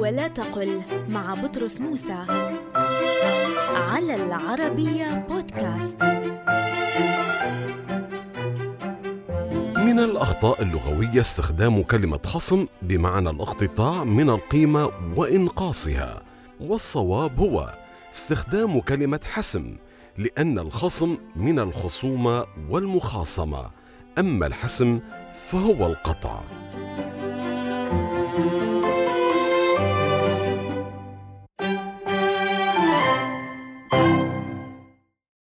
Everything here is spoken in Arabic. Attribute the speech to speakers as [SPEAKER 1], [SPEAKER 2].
[SPEAKER 1] ولا تقل مع بطرس موسى على العربية بودكاست.
[SPEAKER 2] من الأخطاء اللغوية استخدام كلمة خصم بمعنى الاقتطاع من القيمة وإنقاصها، والصواب هو استخدام كلمة حسم، لأن الخصم من الخصومة والمخاصمة، أما الحسم فهو القطع.